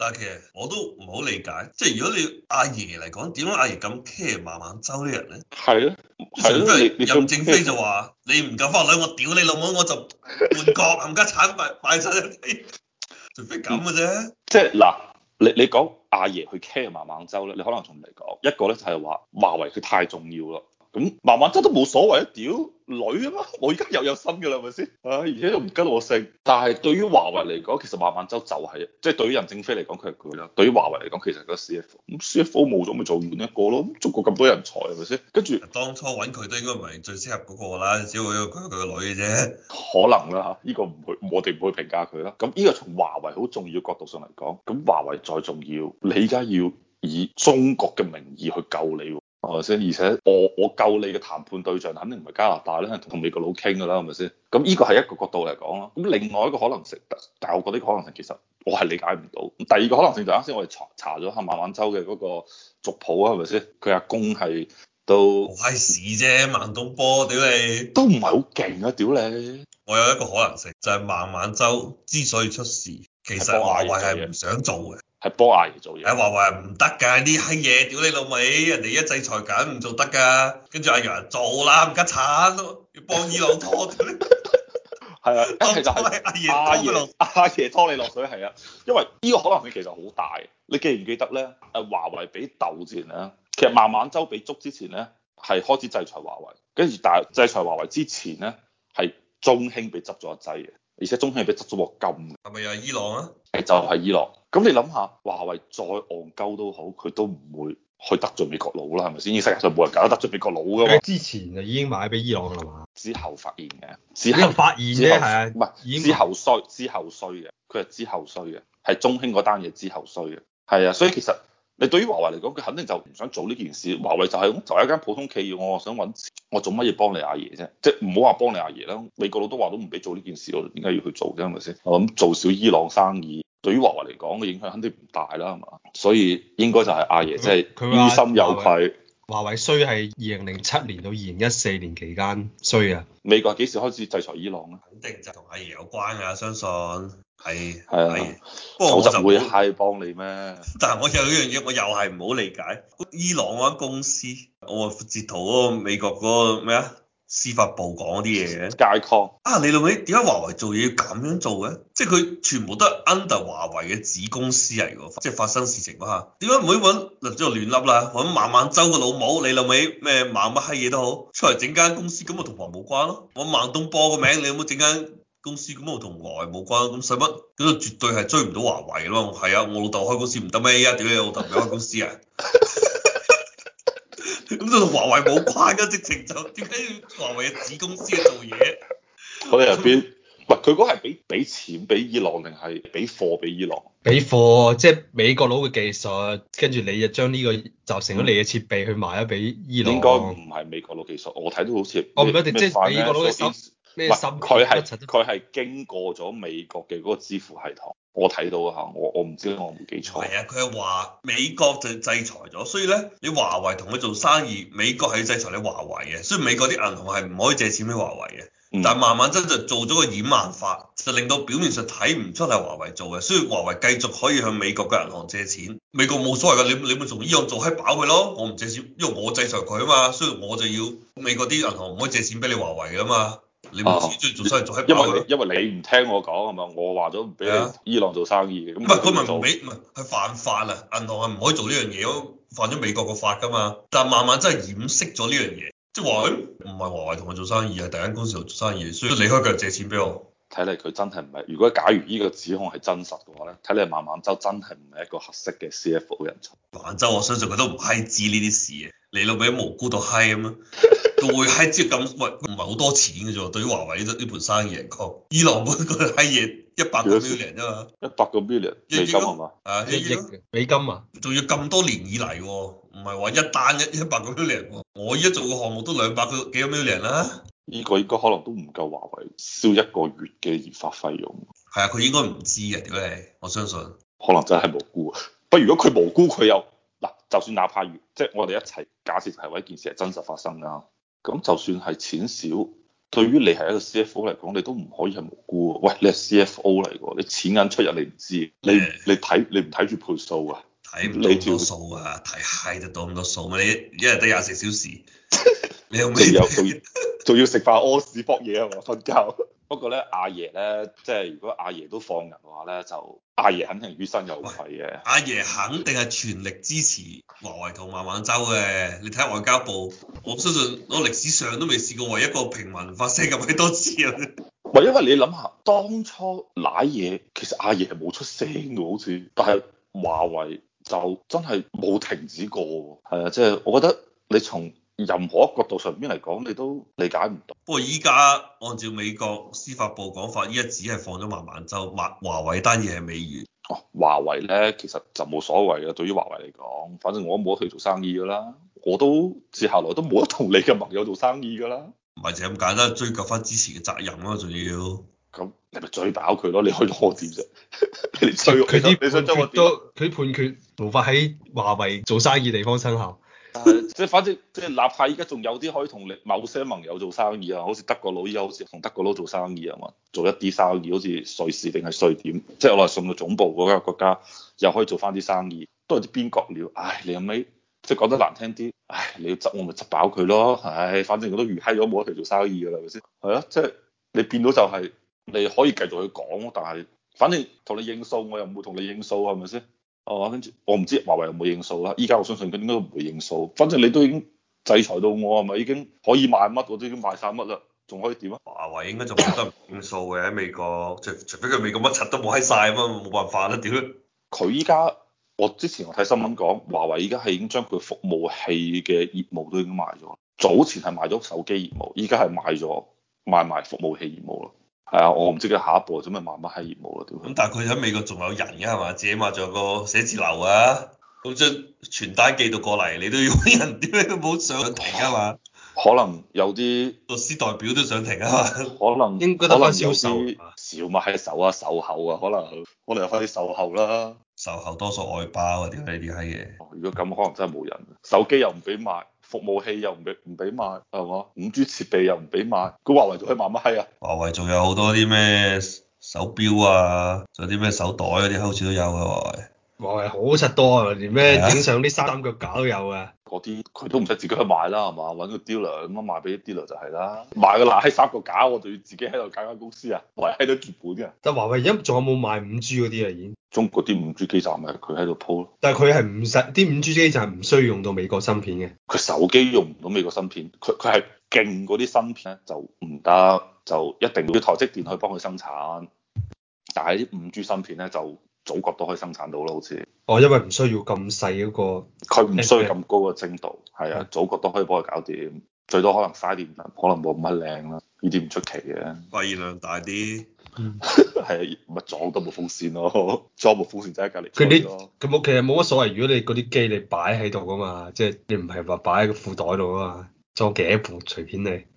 但係其實我都唔好理解，即係如果你阿爺嚟講，點解阿爺咁 care 孟晚舟啲人咧？ 係咯，係咯， 除非你咁任正非就話你唔夠翻女，我屌你老母，我就換國冚家產擺晒一啲，除非咁嘅啫。 即係嗱，你講阿爺去 care 孟晚舟咧，你可能仲嚟講一個咧就係話華為佢太重要啦。咁孟晚舟都冇所謂啊，屌女啊嘛，我而家又有心嘅啦，係咪先？而且又唔跟我姓。但係對於華為嚟講，其實孟晚舟就係，即係對於任正非嚟講佢係佢啦。對於華為嚟講，其實係個 CFO。咁 CFO 冇咗咪做換一個咯。中國咁多人才係咪先？跟住當初揾佢都應該唔係最適合嗰個啦，只會佢個女嘅啫。 可能啦嚇，呢個唔去，我哋唔去評價佢啦。咁呢個從華為好重要角度上嚟講，咁華為再重要，你而家要以中國嘅名義去救你喎。係咪先？而且我救你嘅談判對象肯定唔係加拿大啦，係同美國佬傾㗎啦，係咪先？咁呢個係一個角度嚟講咯。咁另外一個可能性，但係我覺得呢個可能性其實我係理解唔到。第二個可能性就啱先我哋查咗下孟晚舟嘅嗰個族譜啊，係咪先？佢阿公係都好閪屎啫，孟東波，屌你！ 都唔係好勁啊，屌你！ 我有一個可能性，就係孟晚舟之所以出事，其實係幫阿華為爺做嘢， 係唔想做嘅。 係幫阿爺做嘢。 誒，華為係唔得㗎，啲閪嘢，屌你老味，人哋一制裁緊唔做得㗎，跟住阿爺做啦，唔家產，要幫伊朗拖，屌你！ 係啊，一係就係當初係阿爺拖佢落。 阿爺拖你落水，係啊，因為呢個可能性其實好大。你記唔記得咧？華為俾竇之前咧，其實孟晚舟俾捉之前咧，係開始制裁華為，跟住但係制裁華為之前咧，係中興被執咗一劑嘅，而且中興係被執咗鑊金嘅， 係咪又係伊朗啊？ 係就係伊朗。咁你諗下，華為再戇鳩都好，佢都唔會去得罪美國佬啦，係咪先？呢世界上冇人搞得罪美國佬噶嘛。 之前就已經買俾伊朗啦嘛， 之後發現嘅，之呢個後發現啫，係啊， 唔係之後衰嘅，佢係之後衰嘅，係中興嗰單嘢之後衰嘅，係啊，所以其實你對於華為嚟講，佢肯定就唔想做呢件事。華為就係就係一間普通企業，我想揾錢，我做乜嘢幫你阿爺啫？即係唔好話幫你阿爺啦，美國佬都話都唔俾做呢件事，我點解要去做啫？係咪先？我諗做少伊朗生意，對於華為嚟講嘅影響肯定唔大啦，係嘛？所以應該就係阿爺即係於心有愧。 華為衰係2007年到2014年期間衰啊！ 美國幾時開始制裁伊朗咧？ 肯定就同阿爺有關㗎，相信係係啊阿爺。不過我就就會係幫你咩？ 但係我有一樣嘢，我又係唔好理解，伊朗嗰間公司，我截圖嗰個美國嗰個咩啊？司法部講嗰啲嘢嘅。 Skycom 啊，你老味點解華為做嘢要咁樣做嘅？即係佢全部都係 under 華為嘅子公司嚟㗎，即係發生事情嗰下，點解唔可以揾嗱即係亂笠啦？揾孟晚舟個老母，你老味咩孟乜閪嘢都好，出嚟整間公司咁咪同華為冇關咯？揾孟東波個名，你有冇整間公司咁咪同華為冇關？咁使乜？嗰個絕對係追唔到華為咯。係啊，我老豆開公司唔得咩？而家屌你老豆唔開公司啊？咁就同華為冇關㗎，直情就點解要華為嘅子公司去做嘢？ 佢入邊，唔係佢嗰係俾錢俾伊朗定係俾貨俾伊朗？ 俾貨即係美國佬嘅技術，跟住你就將呢個集成咗你嘅設備去賣咗俾伊朗。 應該唔係美國佬技術，我睇到好似我唔一定即係美國佬嘅芯咩芯佢係經過咗美國嘅嗰個支付系統，我睇到啊嚇，我唔知我冇記錯。 係啊，佢係話美國就制裁咗，所以咧你華為同佢做生意，美國係要制裁你華為嘅，所以美國啲銀行係唔可以借錢俾華為嘅。但係慢慢真就做咗個掩眼法，就令到表面上睇唔出係華為做嘅，所以華為繼續可以向美國嘅銀行借錢。美國冇所謂㗎，你咪從伊朗做閪飽佢咯，我唔借錢，因為我制裁佢啊嘛，所以我就要美國啲銀行唔可以借錢俾你華為㗎嘛。你唔自己做生意做閪飽佢咯。 因為你唔聽我講係嘛，我話咗唔俾你伊朗做生意嘅，咁唔係佢咪唔俾，唔係係犯法啊！銀行係唔可以做呢樣嘢咯，犯咗美國個法㗎嘛。但係慢慢真係掩飾咗呢樣嘢。即係話，唔係華為同我做生意，係第一間公司度做生意，所以你可以繼續借錢俾我。 睇嚟佢真係唔係，如果假如呢個指控係真實嘅話咧，睇嚟孟晚舟真係唔係一個合適嘅 CFO 人才。 孟晚舟我相信佢都唔閪知呢啲事嘅，你老味無辜到閪咁樣，佢會閪知咁，喂唔係好多錢嘅啫喎，對於華為呢盤生意嚟講，伊朗嗰個閪嘢100個 million 啫嘛 ，100個 million 美金係嘛？ 啊 1億美金啊！ 仲要咁多年以嚟喎，唔係話一單100個 million 喎，我依家做個項目都200個幾個 million 啦。 呢個應該可能都唔夠華為燒一個月嘅研發費用。 係啊，佢應該唔知嘅，屌你！我相信可能真係無辜啊。不過如果佢無辜，佢又嗱，就算哪怕即係我哋一齊假設係話一件事係真實發生㗎，咁就算係錢少， 對於你係一個 CFO 嚟講，你都唔可以係無辜喎。喂，你係 CFO 嚟喎，你錢銀出入你唔知，你唔睇住倍數啊？ 睇唔到咁多數啊，睇閪得到咁多數咩？你一日得24小時，你有咩？ 仲要食飯屙屎搏嘢係嘛？瞓覺。不過咧，阿爺咧，即係如果阿爺都放人嘅話咧，就阿爺肯定於心有愧嘅。 阿爺肯定係全力支持華為同孟晚舟嘅。你睇下外交部，我相信我歷史上都未試過為一個平民發聲咁多次啊！ 唔係因為你諗下，當初賴嘢其實阿爺係冇出聲嘅，好似，但係華為就真係冇停止過。係啊，即係我覺得你從任何一個角度上邊嚟講，你都理解唔到。 不過依家按照美國司法部講法，依家只係放咗孟晚舟，華為單嘢係未完。 哦，華為咧其實就冇所謂嘅，對於華為嚟講，反正我都冇得同佢做生意㗎啦，我都接下來都冇得同你嘅盟友做生意㗎啦。 唔係就咁簡單，追究翻之前嘅責任咯，仲要。 咁你咪追飽佢咯，你可以攞我點啫？你追佢啲你想將我點？ 佢判決無法喺華為做生意地方生效。 即係反正即係哪怕依家仲有啲可以同你某些盟友做生意啊，好似德國佬依家好似同德國佬做生意啊嘛，做一啲生意，好似瑞士定係瑞典，即係我係送到總部嗰間國家，又可以做翻啲生意，都係啲邊角料。唉，你後尾即係講得難聽啲，唉，你要執我咪執飽佢咯，唉，反正我都預閪咗冇得佢做生意㗎啦，係咪先？係啊，即係你變到就係你可以繼續去講，但係反正同你應數，我又唔會同你應數，係咪先？哦，跟住我唔知華為有冇應數啦。依家我相信佢應該都唔會應數。反正你都已經制裁到我，係咪已經可以賣乜我都已經賣晒乜啦，仲可以點啊？ 華為應該就冇得應數嘅喺美國，除非佢美國乜柒都冇閪晒咁啊，冇辦法啦，屌！ 佢依家我之前我睇新聞講，華為依家係已經將佢服務器嘅業務都已經賣咗。早前係賣咗手機業務，依家係賣埋服務器業務啦。係啊，我唔知佢下一步做咩賣乜閪業務啦，屌！ 咁但係佢喺美國仲有人嘅係嘛？自己嘛仲有個寫字樓啊，咁將傳單寄到過嚟，你都要揾人，點解都冇上庭啊嘛？ 可能有啲律師代表都上庭啊嘛？ 可能應該得翻銷售少咪係售啊售後啊，可能有翻啲售後啦。 售後多數外包啊，點解呢啲閪嘢？ 如果咁可能真係冇人，手機又唔俾賣，服務器又唔俾賣，係嘛？5G 設備又唔俾賣，咁華為仲可以賣乜閪啊？ 華為仲有好多啲咩手錶啊，仲有啲咩手袋嗰啲，好似都有嘅華為。 華為好柒多啊，連咩影相啲三腳架都有啊。 嗰啲佢都唔使自己去賣啦，係嘛？揾個 dealer 咁樣賣俾啲 dealer 就係啦。賣個爛閪三腳架，我就要自己喺度搞間公司啊，維喺度結本嘅。 但華為而家仲有冇賣5G 嗰啲啊？已經中國啲 5G 基站咪佢喺度鋪咯。 但係佢係唔使啲 5G 基站係唔需要用到美國芯片嘅。 佢手機用唔到美國芯片，佢係勁嗰啲芯片咧就唔得，就一定要台積電去幫佢生產。但係啲 5G 芯片咧就祖國都可以生產到咯，好似。 哦，因為唔需要咁細嗰個， 佢唔需要咁高嘅精度，係啊，祖國都可以幫佢搞掂，最多可能嘥電能，可能冇咁乜靚啦，呢啲唔出奇嘅。 發熱量大啲， 係啊，咪裝多部風扇咯，裝部風扇就喺隔離吹咯。 佢冇，其實冇乜所謂。如果你嗰啲機你擺喺度噶嘛，即係你唔係話擺喺個褲袋度啊嘛，裝幾多部隨便你。